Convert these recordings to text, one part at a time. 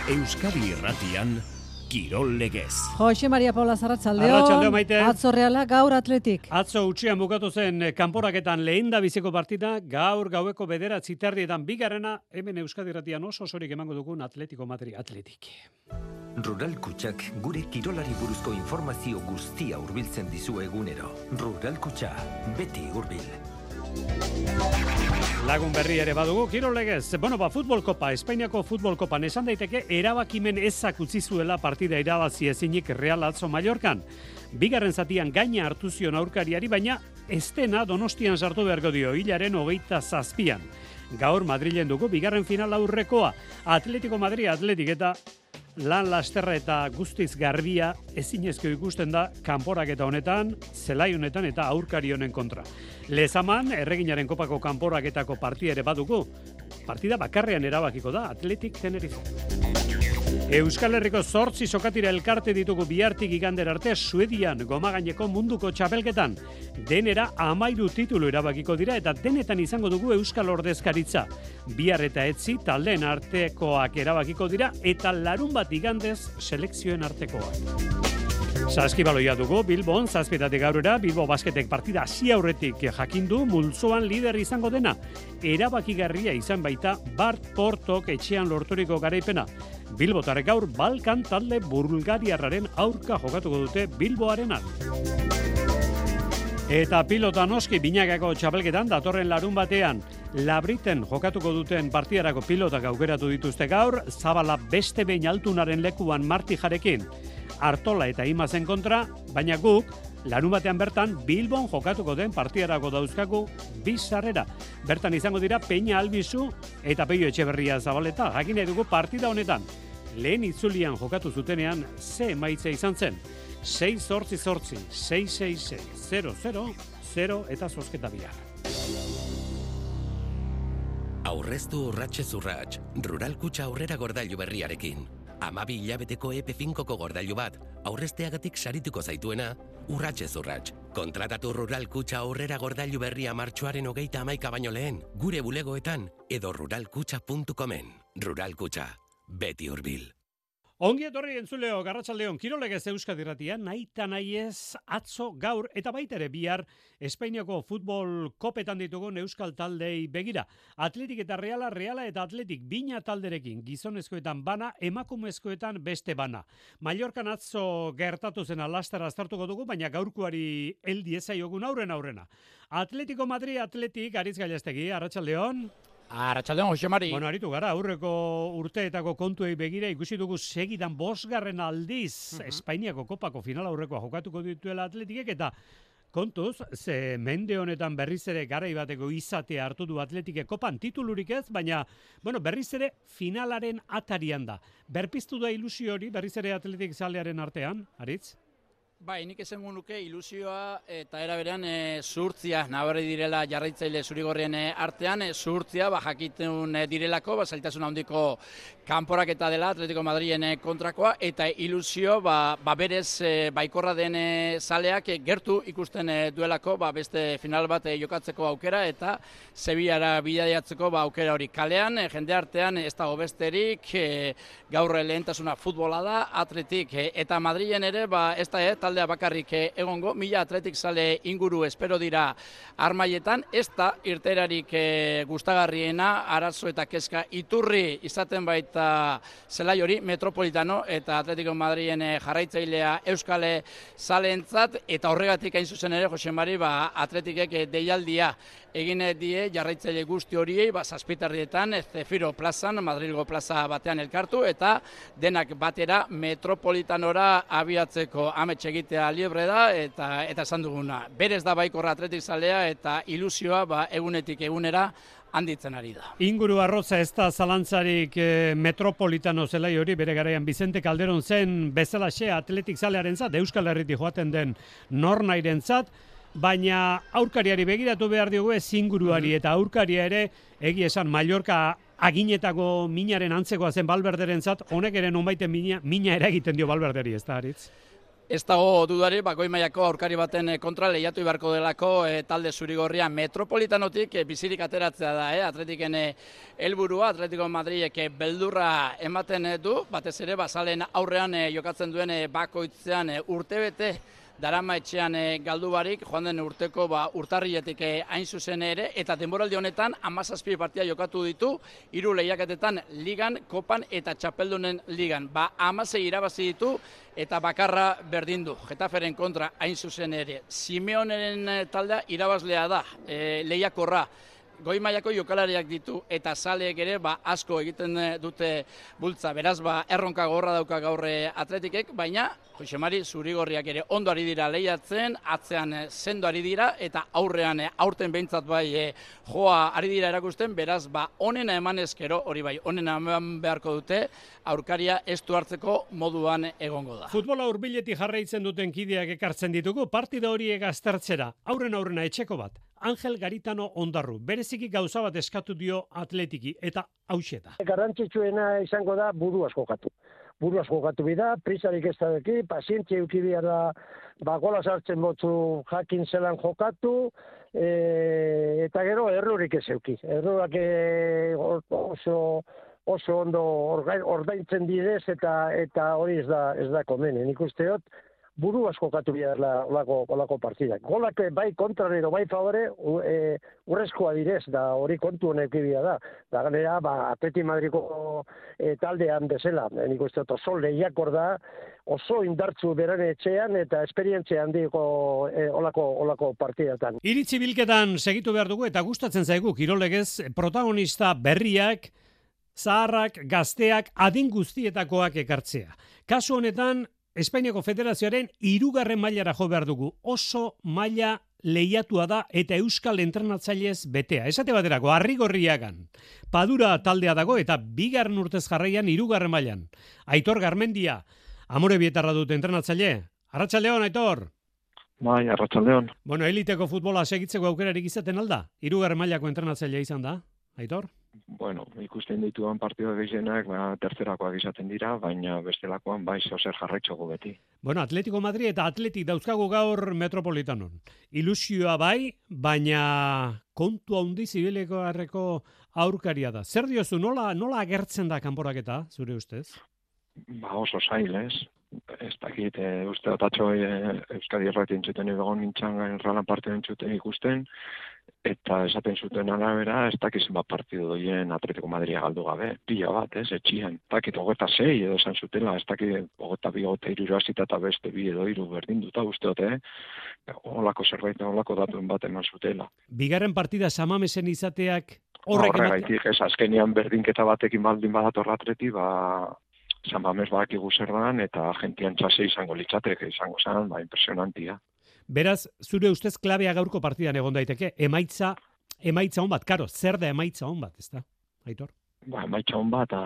Euskadi Irratian, Kirol Legez. Jose Maria Paula Arratsaldeon. Arratsaldeon, Maite. Atzo Reala gaur Atletik. Atzo utxean bukatu zen kanporaketan lehendabiziko partida, gaur gaueko 9:30 bigarrena, hemen Euskadi Irratian osorik emango dugun Atletico Madrid Atletik. Rural Kutxak gure kirolari buruzko informazio guztia hurbiltzen dizu egunero. Rural Kutxa, beti hurbil. Lagun berri ere badugu, Kirol Legez. Futbol Kopa, Espainiako Futbol Kopan esan daiteke erabakimen ezak utzi zuela partida irabazi ezinik Real atzo Mallorcan. Bigarren zatian gaina hartu zion aurkariari, baina ez dena Donostian sartu beharko dio, hilaren 27an. Gaur Madrilen dugu bigarren final aurrekoa. Atletico Madrid Atletik eta lan lasterra eta guztiz garbia ezinezko ikusten da kanporaketa honetan, zelai honetan eta aurkari honen kontra. Lezaman, erreginaren kopako kanporaketako partida ere badugu. Partida bakarrean erabakiko da, Atletik Tenerife. Euskal Herriko 8 sokatira elkarte ditugu bihartik igandera arte Suedian gomagaineko munduko txapelketan. Denera 13 titulu erabakiko dira eta denetan izango dugu Euskal Ordezkaritza. Bihar eta etzi taldeen artekoak erabakiko dira eta larunbat igandez selekzioen artekoak. Saskibaloia dugu Bilbon, 7:00 gaurera, Bilbo Basketek partida hasi aurretik jakindu multzoan lider izango dena. Erabakigarria izan baita Bart Portok etxean lorturiko garaipena. Bilbotarrek gaur Balkan talde bulgariarraren aurka jokatuko dute Bilboarenan. Eta pilota noski binakako txapelketan datorren larun batean Labriten jokatuko duten partidarako pilotak aukeratu dituzte gaur, Zabala beste behin altunaren lekuan Martijarekin. Artola eta Imazen kontra, baina guk, larun batean bertan, Bilbon jokatuko den partidarako dauzkagu bizarrera. Bertan izango dira Peña Albizu eta Peio Etxeberria Zabaleta. Jakin nahi dugu partida honetan. Lehen itzulian jokatu zutenean, ze emaitza izan zen. 6-8-8, 6-6-6, 0-0-0 eta zozketa bihar. Aurreztu urratxez urratx, Rural Kutxa aurrera gordailu berriarekin. 12 hilabeteko EP5ko gordailu bat, aurrezteagatik sarituko zaituena, urratxez urratx. Kontratatu Rural Kutxa aurrera gordailu berria martxoaren 31 baino lehen, gure bulegoetan edo ruralkutxa.comen. Rural Kutxa, beti hurbil. Ongi etorri entzuleo, Arratsaldeon, Kirol Legez Euskadi Irratia, nahita nahiez, atzo, gaur, eta baita ere bihar, Espainiako futbol kopetan ditugun euskal taldei begira. Atletik eta Reala eta Atletik bina talderekin, gizonezkoetan bana, emakumezkoetan beste bana. Mallorcan atzo gertatu zen alastara aztertuko dugu, baina gaurkoari heldi ezaiogun aurrena. Atletico Madrid Atletik, Aritz Gailastegi, Arratsaldeon. Arratsaldeon, Jose Mari. Aritu gara, aurreko urteetako kontuei begira ikusi dugu segidan 5. aldiz Espainiako kopako final aurrekoa jokatuko dituela Atletikek eta kontuz, ze mende honetan berriz ere garai bateko izatea hartu du Atletikek kopan titulurik ez, baina berriz ere finalaren atarian da. Berpiztu da ilusio hori berriz ere Atletik zalearen artean, Aritz? Bai, nik esango nuke ilusioa eta era berean zuhurtzia nabarri direla jarraitzaile zurigorrien artean, zuhurtzia jakitun direlako, zailtasun handiko kanporaketa dela Atletico Madriden kontrakoa eta ilusio berez baikorra den zaleak gertu ikusten duelako beste final bat jokatzeko aukera eta Sevillara bidaiatzeko aukera hori kalean, jende artean ez dago besterik, gaur lehentasuna futbola da, Atletik eta Madriden ere ez da taldea bakarrik egongo, 1000 Atletik zale inguru espero dira armaietan, ez da irterarik gustagarriena, arazo eta kezka iturri izaten baita zelai hori Metropolitano eta Atletico Madriden jarraitzailea euskale zaleentzat eta horregatik hain zuzen ere Jose Mari Atletikek deialdia egin die jarraitzaile guzti horiei, zazpitarrietan, Zefiro plazan, Madrilgo plaza batean elkartu, eta denak batera Metropolitanora abiatzeko amets egitea liebre da, eta esan duguna. Berez da baikorra Atletik zalea, eta ilusioa egunetik egunera handitzen ari da. Inguru arroza ez da zalantzarik Metropolitano zelai hori, bere garaian Vicente Calderon zen bezalaxe Atletik zalearentzat, Euskal Herritik joaten den nornairentzat, baina aurkariari begiratu behar diogu ez inguruari eta aurkaria ere egia esan Mallorca aginetako minaren antzekoa zen Valverderentzat, honek ere nonbaiten mina eragiten dio Valverderi, ez da, Aritz? Ez dago dudari, goi mailako aurkari baten kontra lehiatu beharko delako talde zurigorria Metropolitanotik bizirik ateratzea da, Atletiken helburua, Atletico Madridek beldurra ematen du, batez ere bazalen aurrean jokatzen duen bakoitzean urtebete darama etxean galdu barik, joan den urteko urtarriletik hain zuzen ere, eta denboraldi honetan 17 partida jokatu ditu, 3 lehiaketetan ligan, kopan eta txapeldunen ligan. 16 irabazi ditu eta bakarra berdin du. Getaferen kontra hain zuzen ere. Simeoneren taldea irabazlea da, lehiakorra. Goi mailako jokalariak ditu eta zaleek ere asko egiten dute bultza. Beraz, erronka gorra dauka gaur Atletikek, baina Jose Mari zurigorriak ere ondo ari dira lehiatzen, atzean sendo ari dira eta aurrean aurten behintzat joa ari dira erakusten, beraz, onena eman ezkero, hori bai, onena eman beharko dute, aurkaria estu hartzeko moduan egongo da. Futbola hurbiletik jarraitzen duten kideak ekartzen ditugu, partida horiek aztertzera, aurrena etxeko bat. Angel Garitano Ondarru, bereziki gauza bat eskatu dio Atletiki, eta hauxe da. Garrantzitsuena izango da buruaz jokatu. Buruaz jokatu bida, prisarik ez da deki, pazientzia euki behar da, gola sartzen botzu jakin zelan jokatu, eta gero errurik ez euki. Errurak oso ondo ordaintzen bidez eta hori ez da komene. Nik usteot, buruaz jokatu behar olako partidak. Golak bai kontrarero, bai favore, urrezkoa direz, da hori kontu honek ibia da. Da ganera, Atleti Madriko taldean bezala. Nik uste oso lehiakor da, oso indartzu beran etxean eta esperientzia handiko olako partidatan. Iritzi bilketan segitu behar dugu eta gustatzen zaigu kirolegez protagonista berriak, zaharrak, gazteak, adin guztietakoak ekartzea. Kasu honetan, Espainiako Federazioaren 3. mailara jo behar dugu. Oso maila lehiatua da eta euskal entrenatzailez betea. Esate baterako, Arrigorriagan Padura taldea dago eta 2. urtez jarraian 3. mailan. Aitor Garmendia, Amorebietarra dut entrenatzaile. Arratsaldeon, Aitor. Bai, arratsaldeon. Bueno, eliteko futbola segitzeko aukerarik izaten alda? 3. mailako entrenatzailea izan da, Aitor? Bueno, ikusten dituan partida gehienak tercerakoak izaten dira, baina bestelakoan bai zer jarraitzuko beti. Bueno, Atletico Madrid eta Atletik dauzkagu gaur Metropolitanon. Ilusioa bai, baina kontu handi zibileko harreko aurkaria da. Zer diozu, nola agertzen da kanporaketa, zure ustez? Oso zail, ez? Ez dakit, uste otatxo Euskadi Erratien txuten egon nintzen erralan partiden txuten ikusten, eta esaten zuten arabera, ez dakizen partidu doien Atletico Madria galdu gabe, pila bat, ez, etxian. Ez dakit, 26 edo esan zutela, ez dakit, 22, 23 eta beste 2 edo 3 berdin duta usteote, olako zerbait, olako datuen bat eman zutela. 2. partida samamesen izateak horregaitik, ez, azkenean berdinketa batekin baldin badator Atleti, San Mamés badakigu zer dan, eta gentian txase izango litzateke, izango zen, impresionantia. Beraz, zure ustez klabea gaurko partidan egon daiteke, emaitza on bat, karo, zer da emaitza on bat, ez da, Aitor? Emaitza on bat,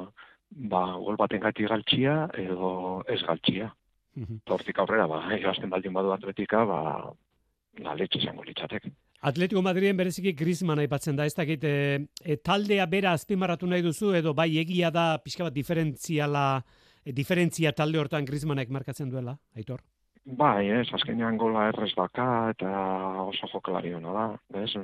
gol baten gati galtxia, edo ez galtxia. Hortik aurrera, egazten baldin badu Atletika, letxe izango litzateke. Atletico Madriden bereziki Griezmann aipatzen da, ez dakit, taldea bera azpimarratu nahi duzu, edo bai egia da pixka bat diferentzia talde hortan Griezmannek markatzen duela, Aitor? Bai, azkenean gola errez daka eta oso jokalari hona da,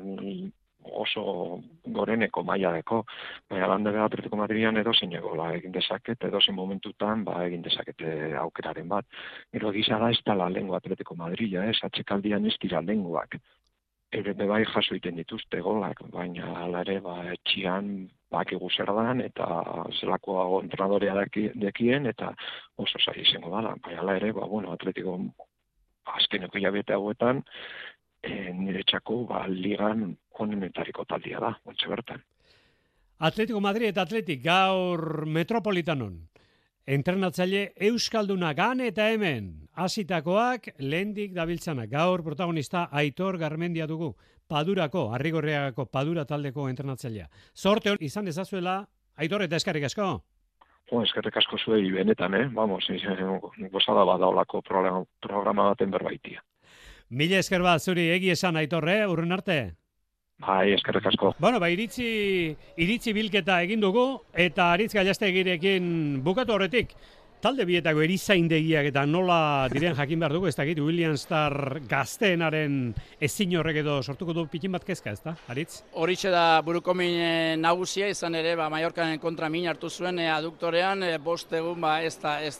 oso goreneko maila deko, baina landebe Atletico Madridian edo zein gola egin dezaket, edo zein momentutan egin dezakete aukeraren bat. Gero gisa da ez tala lengua Atletico Madrida, atxekaldian ez dira lenguak. Ere bai jaso iten dituzte golak, baina ala ere etxian bakigu zer dan eta zelako entrenadorea dekien eta oso zaila izango dala. Baina ala ere, Atletico azkeneko hilabete hauetan nire txako ligan onenetariko taldia da, ontsa bertan. Atletico Madrid eta Atletik gaur Metropolitanon. Entrenatzaile Euskalduna gan eta hemen, hasitakoak lehendik dabiltzanak. Gaur protagonista Aitor Garmendia dugu, Padurako, Arrigorriagako Padura taldeko entrenatzailea. Zorte hon izan ezazuela, Aitor, eta eskerrik asko? Eskerrik asko zuei benetan, gozada badaolako programa baten berbaitia. Mila esker bat zuri egi esan, Aitor, urrun arte? Bai, eskerrik asko. Bueno, iritzi bilketa egin dugu, eta Aritz Gallastegirekin bukatu horretik. Talde bietako erizaindegiak eta nola diren jakin behar dugu, ez dakit William Starr gazteenaren ezin horrek edo sortuko du pikin bat kezka, ez da, Aritz? Horixe da burukomin nagusia, izan ere, Mallorcaren kontra min hartu zuen aduktorean, bost egun ez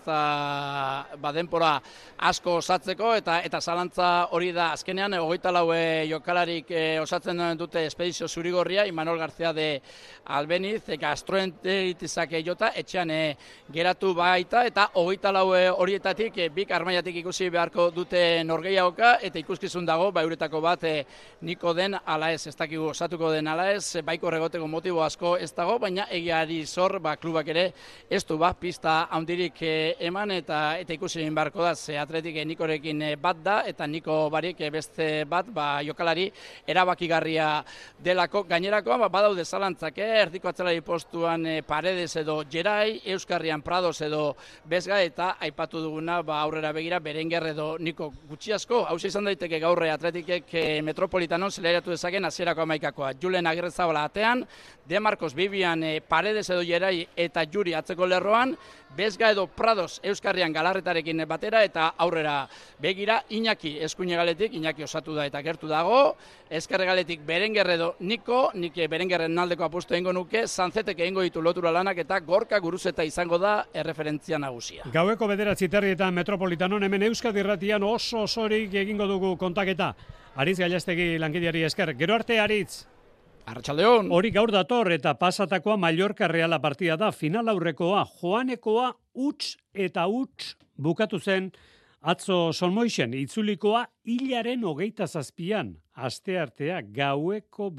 da denpora asko osatzeko, eta zalantza hori da azkenean, 24 jokalarik osatzen dute espedizio zurigorria, Imanol García de Albeniz, gastroenteritizak jota, etxean geratu baita, eta 24 horietatik bik armaiatik ikusi beharko dute norgehiagoka, eta ikuskizun dago, euretako bat niko den ala ez dakigu osatuko den ala ez, baiko regoteko motibo asko ez dago, baina egiari zor, klubak ere ez du pista handirik eman, eta ikusi beharko da, ze atletik nikorekin bat da, eta niko barik beste bat, jokalari erabakigarria delako gainerakoa, badaude zalantzak, erdiko atzelari postuan Paredes edo Gerai, Euskarrian Prados edo Bezga, eta aipatu duguna aurrera begira Berenguer edo Niko gutxi asko. Hau izan daiteke gaur Atletikek Metropolitanon zeleratu dezaken hasierako hamaikakoa. Julen Agirrezabala atean, De Marcos Bibian Paredes edo Gerai eta Juri atzeko lerroan, Bezga edo Prados Euskarrian Galarretarekin batera, eta aurrera begira Iñaki eskuinegaletik, Iñaki osatu da eta gertu dago, ezkerregaletik Berenguer edo Niko, nik Berenguerren aldeko apustu egingo nuke, Sanzetek egingo ditu lotura lanak, eta Gorka Guruzeta izango da erreferentzia nagusia. Gaueko 9 eta Metropolitanon, hemen Euskadi Irratian oso osorik egingo dugu kontaketa. Aritz Gailastegi lankideari esker. Gero arte, Aritz. Arratsaldeon. Hori gaur dator eta pasatakoa Mallorca Reala partida da, final aurrekoa, joanekoa huts eta huts bukatu zen atzo Solmoixen, itzulikoa hilaren 27an, asteartea gaueko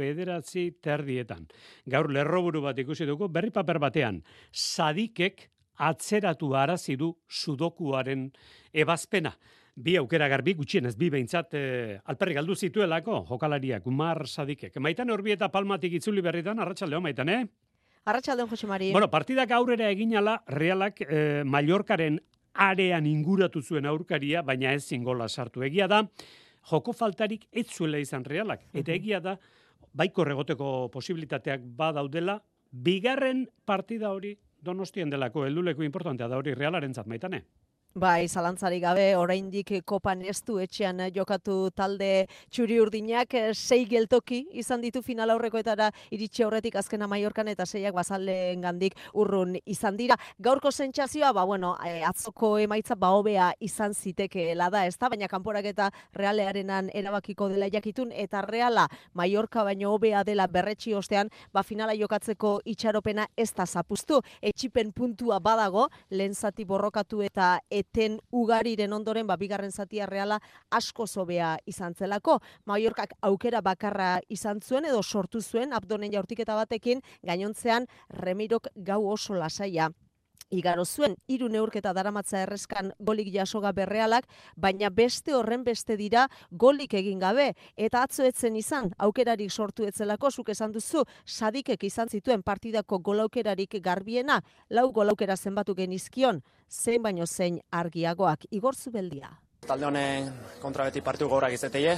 9:30. Gaur lerroburu bat ikusi dugu, berri paper batean, Sadikek atzeratu arazi du sudokuaren ebazpena. Bi aukera garbi, gutxienez bi behintzat alperrik galdu zituelako jokalariak, Umar Sadikek. Maitan Urbi eta Palmatik itzuli berritan, arratsaldeon Maitan, Arratsaldeon, Jose Mari. Bueno, partidak aurrera eginala, Realak Mallorcaren arean inguratu zuen aurkaria, baina ezin gola sartu. Egia da, joko faltarik ez zuela izan Realak. Eta egia da, baiko regoteko posibilitateak badaudela, bigarren partida hori Donostien delako helduleko importantea da hori Realarentzat, Maitane. Bai, zalantzarik gabe, oraindik kopan ez du etxean jokatu talde txuri-urdinak, 6 geltoki izan ditu final aurrekoetara iritsi aurretik azkena Mallorcan, eta 6ak bazaleengandik urrun izan dira. Gaurko sentsazioa, atzoko emaitza hobea izan zitekeela da, ezta, baina kanporaketa Realearenan erabakiko dela jakitun, eta Reala Mallorca baino hobea dela berretsi ostean, finala jokatzeko itxaropena ez da zapuztu. Etxipen puntua badago, lehen zati borrokatu eta eten ugariren ondoren, bigarren zatia Reala asko hobea izan zelako. Mallorcak aukera bakarra izan zuen edo sortu zuen abdonen jaurtiketa batekin, gainontzean Remirok gau oso lasaia igaro zuen. 3 neurketa daramatza erreskan golik jasoga Realak, baina beste horren beste dira golik egin gabe, eta atzo etzen izan aukerarik sortu etzelako, zuk esan duzu, Sadikek izan zituen partidako golaukerarik garbiena, 4 golaukera zenbatu genizkion, zein baino zein argiagoak. Igor Zubeldia. Talde honen kontra beti partidu gaurak izateie.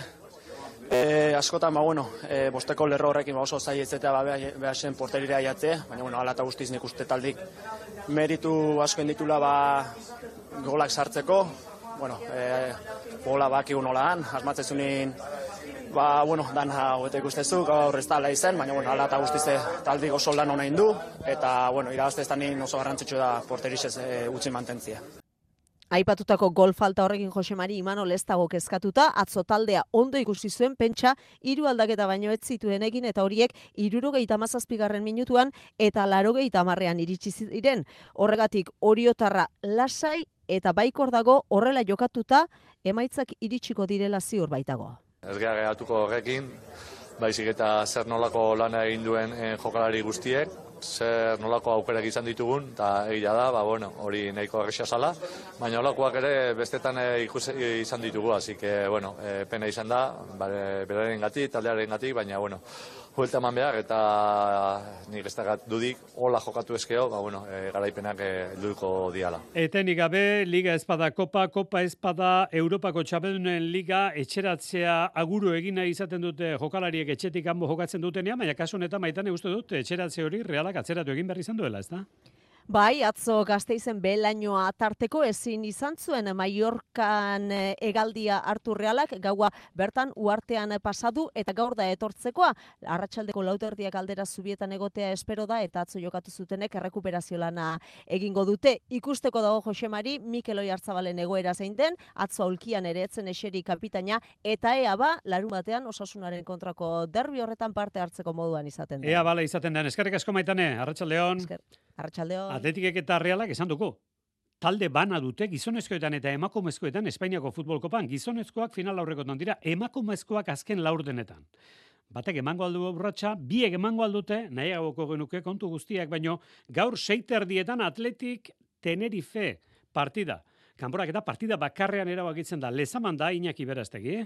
Askotan, bosteko lerro horrekin oso zai izatea behasen porterira jatzea, baina ala eta guztiz nik uste taldik meritu asko inditula golak sartzeko, gola bakigu nolaan, asmatzezunin, dan hauete ikustezu, gaur ez tala izen, baina ala eta guztiz taldik oso lan hona indu, eta irabazte ez da nien oso garrantzitsu da porterixez utzi mantentzia. Aipatutako gol falta horrekin Jose Mari Imanol ez dago kezkatuta, atzo taldea ondo ikusi zuen, pentsa 3 aldaketa baino ez zituen egin, eta horiek 77. minutuan eta 80. iritsi ziren. Horregatik oriotarra lasai eta baikor dago, horrela jokatuta emaitzak iritsiko direla ziur baitago. Ez gara geratuko horrekin, baizik eta zer nolako lana egin duen jokalari guztiek, zer nolako aukerak izan ditugun, eta egia da, hori nahiko erresa zala, baina nolakoak ere bestetan izan ditugu, así que, pena izan da, beraren gatik, taldearen gatik, baina, huelta eman behar, eta nik ez da dudik, hola jokatu ezkeo, garaipenak helduko diala. Etenik gabe, Liga Espada Kopa, Kopa Espada, Europako Txapeldunen Liga, etxeratzea aguru egina izaten dute jokalariek etxetik kanpo jokatzen dutenean, baina kasu honetan Maitane uste dut, etxeratze hori Realak atzeratu egin behar izan duela, ez da? Bai, atzo Gasteizen belainoa tarteko ezin izan zuen Mallorcan hegaldia hartu Realak, gaua bertan uartean pasadu eta gaur da etortzekoa. Arratsaldeko 4:00 aldera zubietan egotea espero da eta atzo jokatu zutenek errekuperazio lana egingo dute. Ikusteko dago Josemari Mikel Oiartzabalen egoera zein den, atzo aulkian ere etzen eseri kapitaina eta ea ba larunbatean Osasunaren kontrako derbi horretan parte hartzeko moduan izaten den. Ea bala izaten den. Eskerrik asko Maitane, arratsaldeon. Arratsaldeon. Atletikek eta Realak esan dugu. Talde bana dute gizonezkoetan eta emakumezkoetan Espainiako futbol kopan. Gizonezkoak final aurrekotan dira, emakumezkoak azken laurdenetan. Batek emango aldu urratsa, biek emango aldute, nahiagoko genuke kontu guztiak, baino gaur 6:30 Atletik Tenerife partida. Kanporak eta partida bakarrean erabakitzen da. Lezaman da Iñaki Berastegi.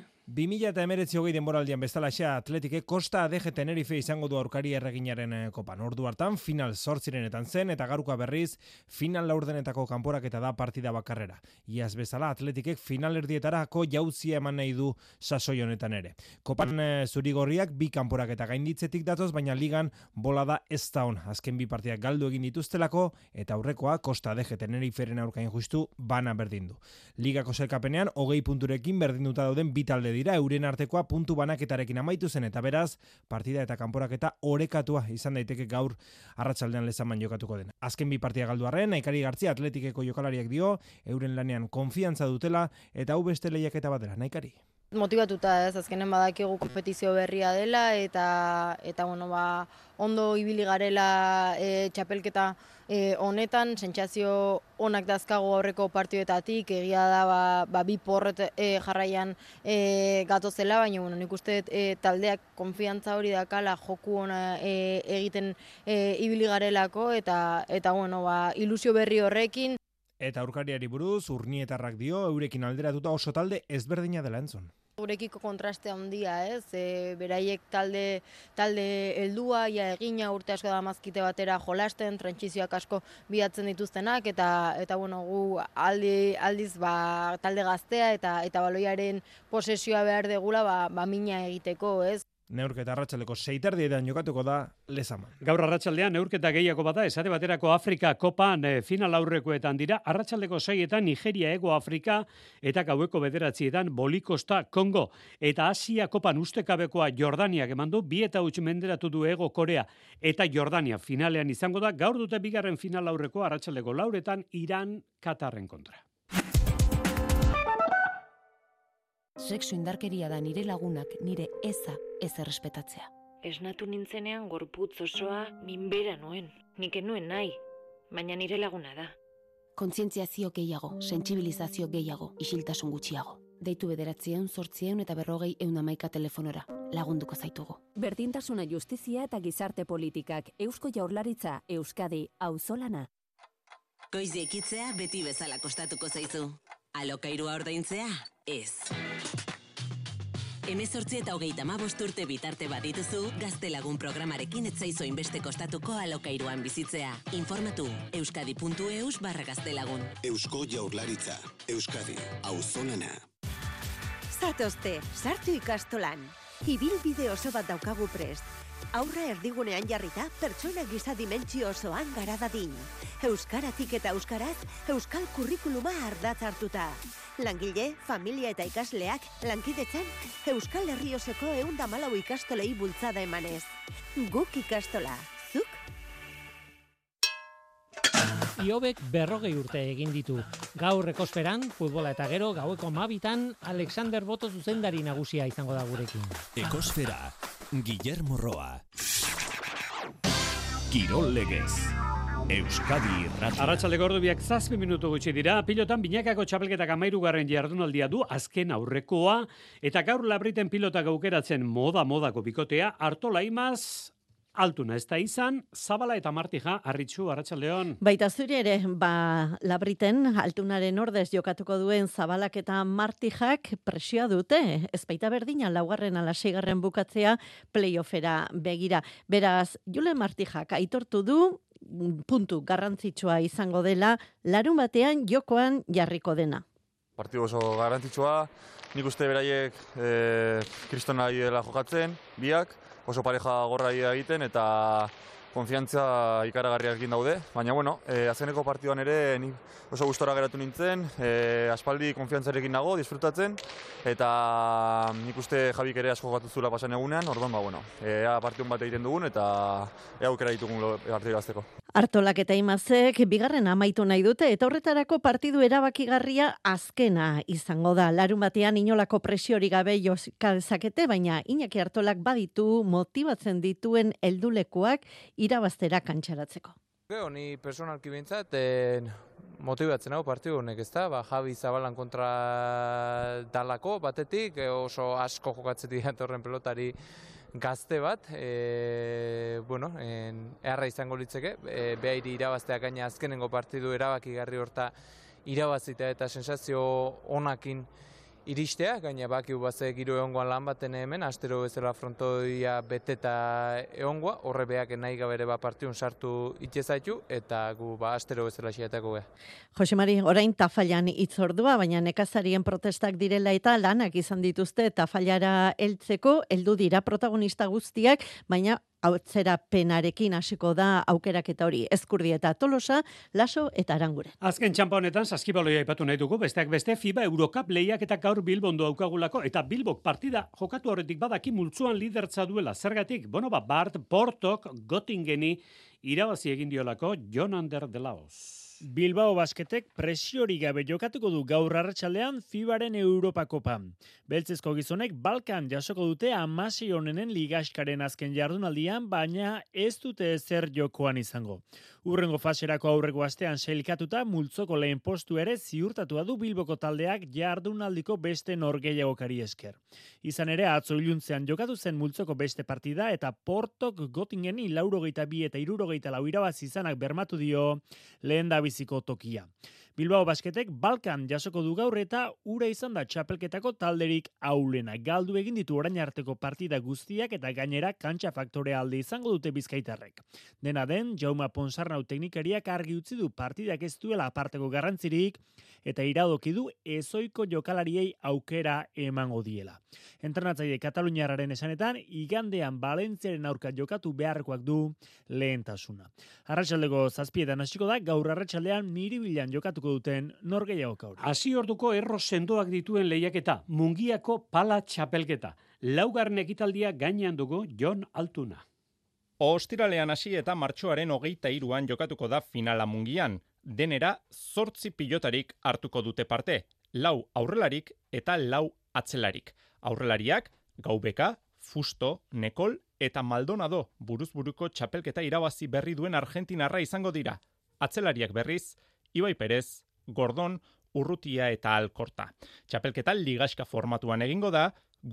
2019 denboraldian bezalaxe Atletike Costa Adeje Tenerife izango du aurkari erreginaren kopan. Ordu hartan final 8 zen eta garuka berriz final laurdenetako kanporaketa da partida bakarrera. Iaz bezala Atletikek final erdietarako jauzia eman nahi du sasoi honetan ere. Kopan zurigorriak bi kanporaketa gainditzetik datoz, baina ligan bolada ez da on. Azken bi partidak galdu egin dituztelako eta aurrekoa Costa Adeje Teneriferen aurkain justu bana berdindu. Ligako sailkapenean 20 punturekin berdinduta dauden bi talde dira, euren artekoa puntu banaketarekin amaitu zen eta beraz partida eta kanporaketa orekatua izan daiteke gaur arratsaldean Lezaman jokatuko den. Azken bi partida galdu arren, Naikari Gartzia Atletikeko jokalariak dio, euren lanean konfiantza dutela eta hau beste lehiaketa batera. Naikari. Motivatuta ez, azkenen badakigu kompetizio berria dela eta bueno, ondo ibili garela txapelketa honetan, sentsazio onak dazkago aurreko partiduetatik, egia da bi porret jarraian gatozela, baina bueno, nik uste taldeak konfiantza hori dakala joku ona egiten ibili garelako eta bueno, ilusio berri horrekin. Eta aurkariari buruz, Urnietarrak dio, eurekin alderatuta oso talde ezberdina dela entzun. Gurekiko kontraste handia, ez? Beraiek talde heldua, ja egina urte asko da mazkite batera jolasten, trantsizioak asko bilatzen dituztenak eta bueno, gu aldiz talde gaztea eta baloiaren posesioa behar degula mina egiteko, ez? Neurketa arratsaldeko 6:30 jokatuko da Lezaman. Gaur arratsaldean neurketa gehiago bada, esate baterako Afrika kopan final aurrekoetan dira, arratsaldeko 6:00 Nigeria Hego Afrika eta gaueko 9:00 Bolikosta Kongo. Eta Asia kopan ustekabekoa Jordaniak emandu, 2-0 menderatu du Hego Korea eta Jordania finalean izango da, gaur dute bigarren final aurreko arratsaldeko 4:00 Iran Katarren kontra. Sexu indarkeria da nire lagunak nire eza ez errespetatzea. Esnatu nintzenean gorputz osoa minbera nuen. Nik nuen nahi, baina nire laguna da. Kontzientziazio gehiago, sentsibilizazio gehiago, isiltasun gutxiago. Deitu 900 eta 40 telefonora. Lagunduko zaitugu. Berdintasuna, justizia eta gizarte politikak. Eusko Jaurlaritza, Euskadi, auzolana. Goizi ekitzea beti bezala kostatuko zaizu. Alokairua ordaintzea? Ez. 18 eta 35 urte bitarte badituzu, Gaztelagun programarekin ez zaizu inbeste kostatuko alokairuan bizitzea. Informatu euskadi.eus/gaztelagun. Eusko Jaurlaritza, Euskadi, auzolana. Zatozte, sartu ikastolan. Ibilbide oso bat daukagu prest. Aurra erdigunean jarrita, pertsona giza dimentsio osoan gara dadin. Euskaratik eta euskaraz, euskal kurrikuluma ardatz hartuta. Langile, familia eta ikasleak, lankidetzan, Euskal Herri osoko 114 ikastolei bultzada emanez. Guk ikastola, zuk? Iobek 40 urte egin ditu. Gaur ekosferan, futbola eta gero, gaueko 12:00 Alexander Boto zuzendari nagusia izango da gurekin. Ekosfera, Guillermo Roa. Kirol Legez. Euskadi Irratia. Arratsaldeko ordubiak 7 minutu gutxi dira. Pilotan binakako txapelketak 13. jardunaldia du, azken aurrekoa, eta gaur Labriten pilotak aukeratzen modako bikotea, Artola Imaz, Altuna ez da izan, Zabala eta Martija, Arritxu, arratsaldeon. Baita zuri ere, Labriten Altunaren ordez jokatuko duen Zabalak eta Martijak presioa dute. Ez baita berdina, 4. ala 6. bukatzea playoffera begira. Beraz, Julen Martijak aitortu du, puntu garrantzitsua izango dela, larunbatean jokoan jarriko dena. Partidu oso garrantzitsua, nik uste beraiek kristona dela jokatzen, biak, oso pareja gorra egiten eta konfiantza ikaragarriarekin daude, baina bueno, azkeneko partiduan ere nik oso gustora geratu nintzen, aspaldi konfiantzarekin nago, disfrutatzen, eta nik uste Jabik ere asko jokatu zula pasan egunean, orduan, ea partidun bat egiten dugun, eta ea aukera ditugun partidu gazteko. Hartolak eta Imazek bigarren amaitu nahi dute eta horretarako partidu erabakigarria azkena izango da. Larun batean inolako presiorik gabe joska dezakete, baina Iñaki Hartolak baditu motibatzen dituen heldulekuak irabaztera kantxaratzeko. Ni personalki bintzat motibatzen hau partidu honek, ezta? Javi Zabalan kontra dalako batetik, oso asko jokatzetik datorren pelotari gazte bat, erra izango litzeke, behairi irabazteak gaina azkenengo partidu erabakigarri horta irabazita eta sensazio onakin iristea, gaina bakiu baze giro egongoan lan baten hemen, astero bezala frontoia beteta egongoa, horre beak nahi gabere partidun sartu itxezaitu, eta gu astero bezala xiatako beha. Jose Mari, orain Tafallan itzordua, baina nekazarien protestak direla eta lanak izan dituzte Tafallara heltzeko, heldu dira protagonista guztiak, baina atzerapenarekin hasiko da aukeraketa hori. Ezkurdieta Tolosa, Laso eta Aranguren. Azken txampa honetan saskibaloia aipatu nahi dugu, besteak beste FIBA Eurocup lehiak eta gaur Bilbon daukagulako eta Bilbok partida jokatu horretik badaki multzuan lidertza duela. Zergatik, Bart Portok Göttingeni irabazi egin diolako Jon Ander de Laos. Bilbao Basketek presiori gabe jokatuko du gaur arratsaldean FIBaren Europa Kopan. Beltzezko gizonek Balkan jasoko dute 16 honenen ligaskaren azken jardunaldian, baina ez dute ezer jokoan izango. Urrengo faserako aurreko astean sailkatuta multzoko lehen postu ere ziurtatua du Bilboko taldeak jardunaldiko beste norgehiagokari esker. Izan ere atzo iluntzean jokatu zen multzoko beste partida eta Portok Göttingeni 62 eta 64 irabazi izanak bermatu dio lehen biziko tokia. Bilbao Basketek Balkan jasoko du gaur eta ura izan da txapelketako talderik aulena. Galdu egin ditu orain arteko partida guztiak eta gainera kantxa faktore alde izango dute bizkaitarrek. Dena den, Jaume Ponsarnau teknikariak argi utzi du partidak ez duela aparteko garrantzirik eta iradoki du ezoiko jokalariei aukera emango diela. Entrenatzaile Kataluniarraren esanetan, igandean Valentziaren aurka jokatu beharrekoak du lehentasuna. Arratsaldeko 7 hasiko da, gaur arratsaldean Miribilan jokatuko duten norgehiagoka hori. Hasi orduko erro sendoak dituen lehiaketa, Mungiako pala txapelketa. Laugarren ekitaldia gainean dugu Jon Altuna. Ostiralean hasi eta martxoaren 23an jokatuko da finala Mungian. Denera 8 pilotarik hartuko dute parte. 4 aurrelarik eta 4 atzelarik. Aurrelariak Gaubeka, Fusto, Nekol eta Maldonado buruzburuko txapelketa irabazi berri duen argentinarra izango dira. Atzelariak berriz Ibai Perez, Gordon, Urrutia eta Alkorta. Txapelketa ligaska formatuan egingo da,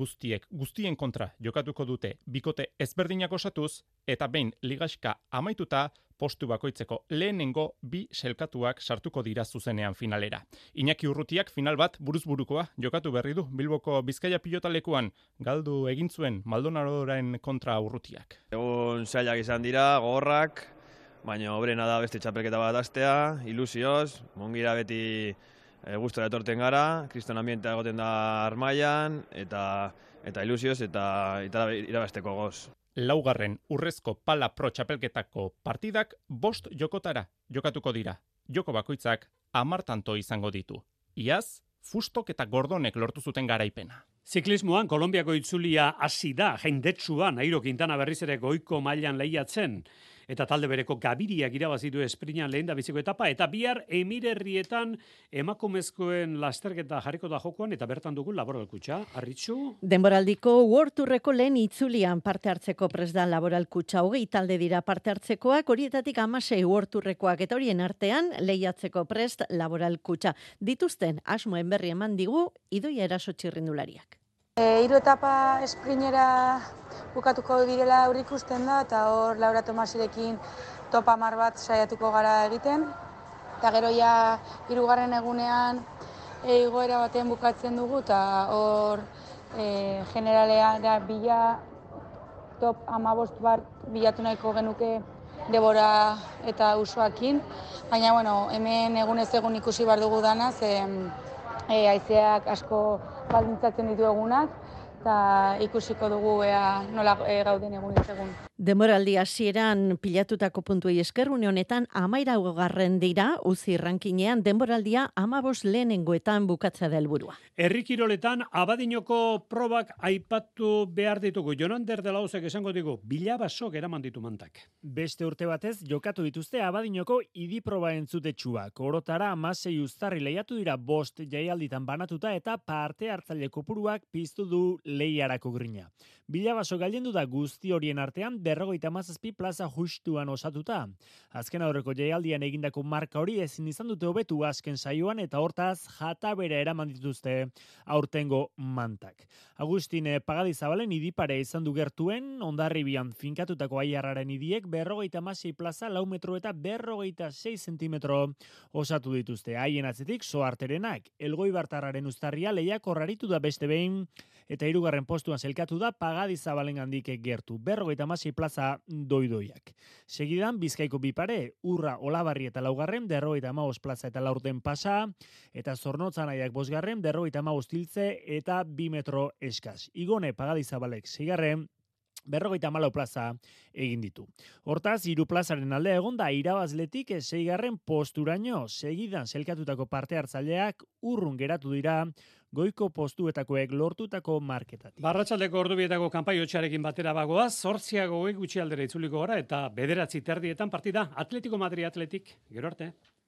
guztien kontra jokatuko dute bikote ezberdinak osatuz, eta behin ligaska amaituta postu bakoitzeko lehenengo 2 selkatuak sartuko dira zuzenean finalera. Iñaki Urrutiak final bat buruzburukoa jokatu berri du Bilboko Bizkaia pilotalekuan, galdu egin zuen Maldonadoren kontra Urrutiak. Egun zailak izan dira, gogorrak, baina obrena da beste txapelketa bat astea, ilusioz, Mungira beti gustora etorten gara, kriston ambientea egoten da Armaian, eta ilusioz eta irabazteko goz. Laugarren urrezko pala pro txapelketako partidak 5 jokotara jokatuko dira. Joko bakoitzak 10 tanto izango ditu. Iaz, Fustok eta Gordonek lortu zuten garaipena. Ziklismoan Kolonbiako itzulia hasi da, jendetsuan, Nairo Quintana berriz ere goiko mailan lehiatzen. Eta talde bereko Gabiriak irabazi du esprinan lehendabiziko etapa, eta bihar Emirerrietan emakumezkoen lasterketa jarriko da jokoan, eta bertan dugu Laboral Kutxa, Arritxu. Denboraldiko World Tourreko lehen itzulian parte hartzeko prest da Laboral Kutxa, 20 talde dira parte hartzekoak, horietatik 16 World Tourrekoak, eta horien artean lehiatzeko prest Laboral Kutxa. Dituzten asmoen berri eman digu Idoia Eraso txirrindulariak. 3 etapa esprinera bukatuko direla aurreikusten da, eta hor Laura Tomasirekin topa 10 bat saiatuko gara egiten. Eta gero ja 3. egunean igoera batean bukatzen dugu, eta hor generalea bila top 15 bat bilatu nahiko genuke Debora eta Usoakin. Baina hemen egunez egun ikusi behar dugu dana, haizeak asko baldintzatzen ditu egunak, eta ikusiko dugu nola gauden egunez egun. Denboraldi hasieran pilatutako puntuei esker une honetan 13. dira UCI rankinean denboraldia 15 lehenengoetan bukatzea da helburua. Herri kiroletan Abadinoko probak aipatu behar ditugu. Jonander de la Ozek esango digu, bilabasok eraman ditu mantak. Beste urte batez jokatu dituzte Abadinoko idiproba entzutetsuak. Orotara 16 uztarri lehiatu dira 5 jaialditan banatuta eta parte hartzaile kopuruak piztu du lehiarako grina. Bilabaso gailendu da guzti horien artean 57 plaza justuan osatuta. Azken aurreko jaialdian egindako marka hori ezin izan dute hobetu azken saioan eta hortaz jatabera eraman dituzte aurtengo mantak. Agustin Pagadizabalen idipare izan du gertuen, Hondarribian finkatutako aiarraren idiek 56 plaza 4 metro eta 56 zentimetro osatu dituzte. Haien atzetik Soarterenak, Elgoibartarraren uztarria lehiakor aritu da beste behin eta 3. postuan zelkatu da Pagadizabalengandik gertu. 56 plaza doidoiak. Segidan Bizkaiko bipare, Urra, Olabarri eta 4. 55 plaza eta 4 pasa, eta Zornotzanaiak 5. 55 tiltze eta 2 metro eskaz. Igone Pagadizabalek 6. 54 plaza egin ditu. Hortaz, 3 plazaren alde egon da irabazletik 6. posturaino. Segidan zelkatutako parte hartzaileak urrun geratu dira goiko postuetakoek lortutako marketatik. Barratsaldeko ordubietako kanpaiotxarekin batera bagoaz, 8 gutxi aldera itzuliko gara eta 9 partida Atletico Madrid Atletik. Gero arte.